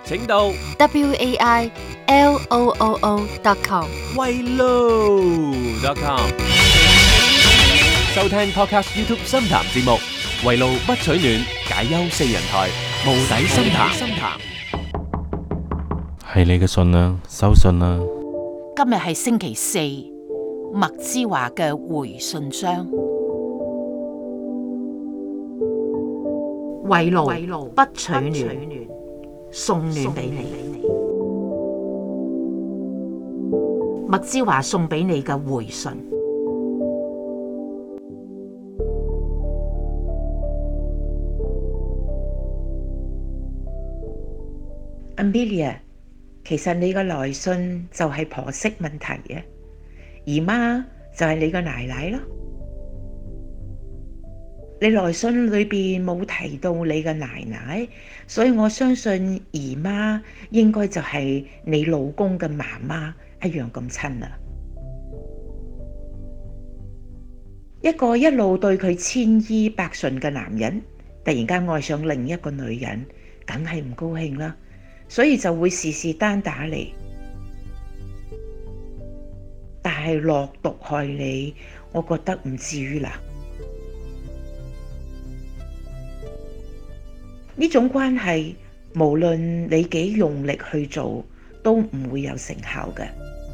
請到 wailoo.com 圍爐.com 收聽 Podcast YouTube 深談節目，圍爐不取暖，解憂四人台，無底深談。 係你嘅信啦，收信啦。 今日係星期四，麥之華嘅回信箱。圍爐不取暖，送暖俾你。麥之華送俾你嘅回信。 Amelia， 其實你嘅來信就係婆媳問題嘅，姨媽就係你個奶奶咯。你來信裏邊冇提到你嘅奶奶，所以我相信姨媽應該就係你老公嘅媽媽一樣咁親啦。一個一路對佢千依百順嘅男人，突然間愛上另一個女人，梗係唔高興啦。所以就會事事單打你，但係落毒害你，我覺得唔至於啦。呢種關係，無論你幾用力去做，都唔會有成效嘅。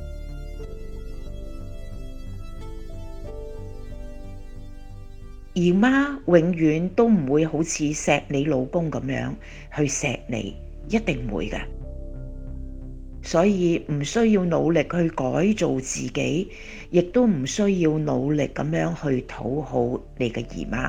姨媽永遠都唔會好似錫你老公咁樣去錫你。一定會嘅，所以唔需要努力去改造自己，亦都唔需要努力咁樣去討好你嘅姨媽。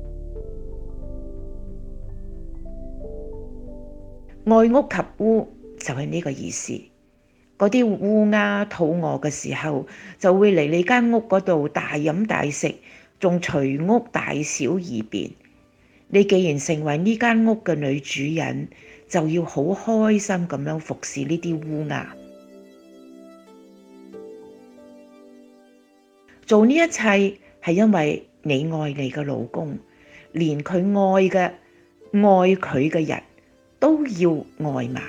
愛屋及烏就係呢個意思。嗰啲烏鴉肚餓嘅時候，就會嚟你間屋嗰度大飲大食，仲隨屋大小二便。你既然成為呢間屋嘅女主人，就要好開心咁樣服侍呢啲烏鴉。做呢一切係因為你愛你嘅老公，連佢愛佢嘅人都要愛埋。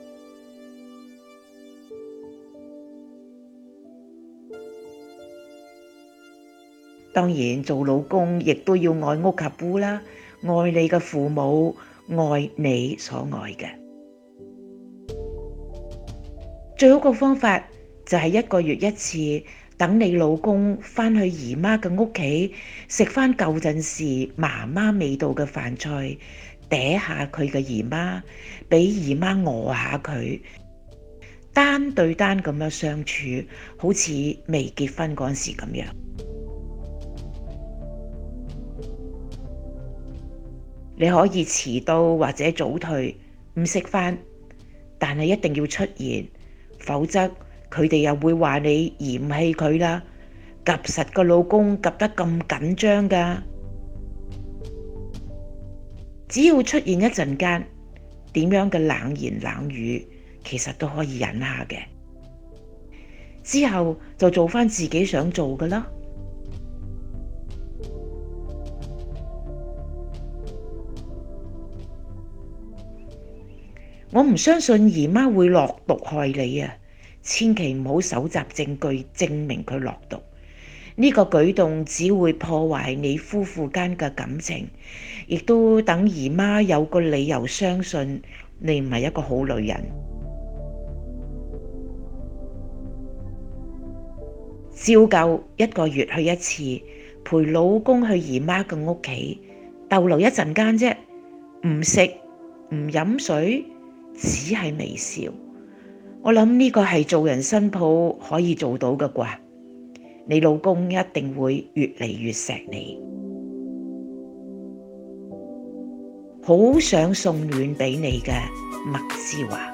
當然做老公亦都要愛屋及烏啦，愛你嘅父母，愛你所愛嘅。最好嘅方法就係1個月一次，等你老公返去姨媽嘅屋企，食返舊陣時媽媽味道嘅飯菜，嗲下佢嘅姨媽，俾姨媽餓下佢，單對單咁樣相處，好似未結婚嗰時咁樣。你可以遲到或者早退，唔食飯，但係一定要出現，否則佢哋又會話你嫌棄佢啦。夾實個老公夾得咁緊張㗎，只要出現一陣間，點樣嘅冷言冷語，其實都可以忍下嘅。之後就做返自己想做嘅啦。我唔相信姨媽會落毒害你啊！千祈唔好搜集證據證明佢落毒，呢個舉動只會破壞你夫婦間嘅感情，亦都等姨媽有個理由相信你唔係一個好女人。照舊1個月去一次，陪老公去姨媽嘅屋企逗留一陣間啫，唔食唔飲水，只係微笑。我諗呢個係做人新抱可以做到嘅啩。你老公一定會越嚟越錫你。好想送暖俾你嘅麥之華。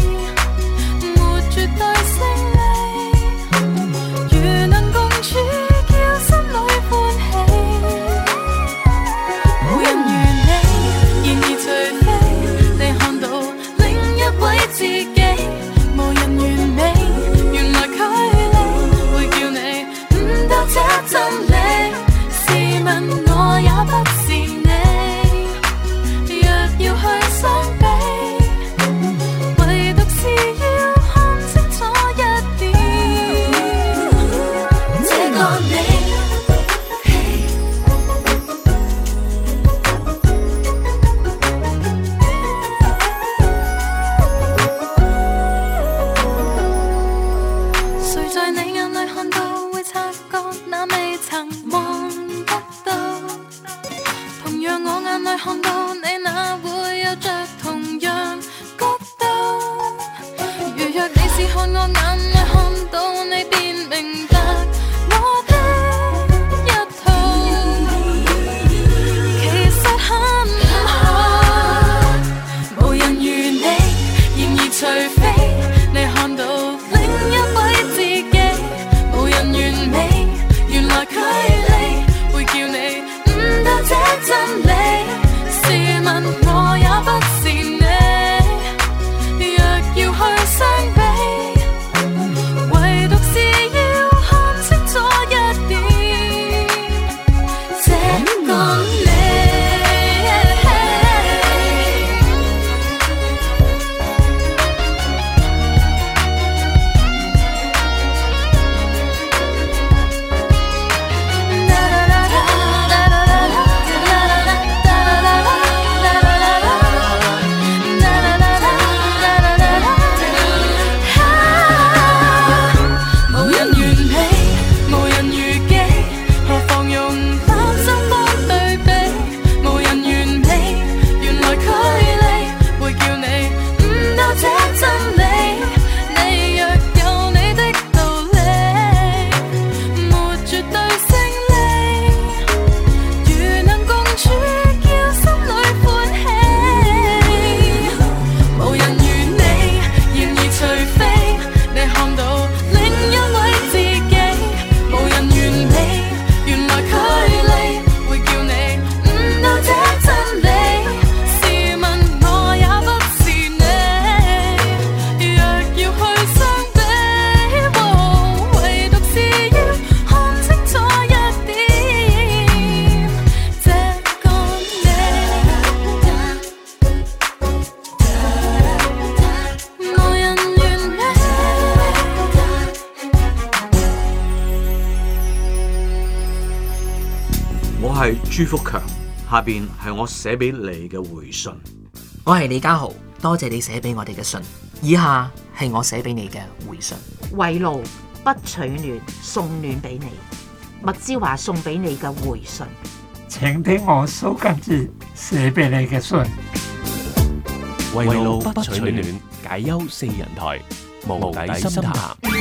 絕對勝利，如能共處。 係朱福強，下邊係我寫俾你嘅回信。 我係李家豪，多謝你寫俾我哋嘅信。以下係我寫俾你嘅回信。 圍爐不取暖，送暖俾你。麥之華送俾你嘅回信。 請聽我蘇賡哲寫俾你嘅信。 圍爐不取暖，解憂四人台，無底深談。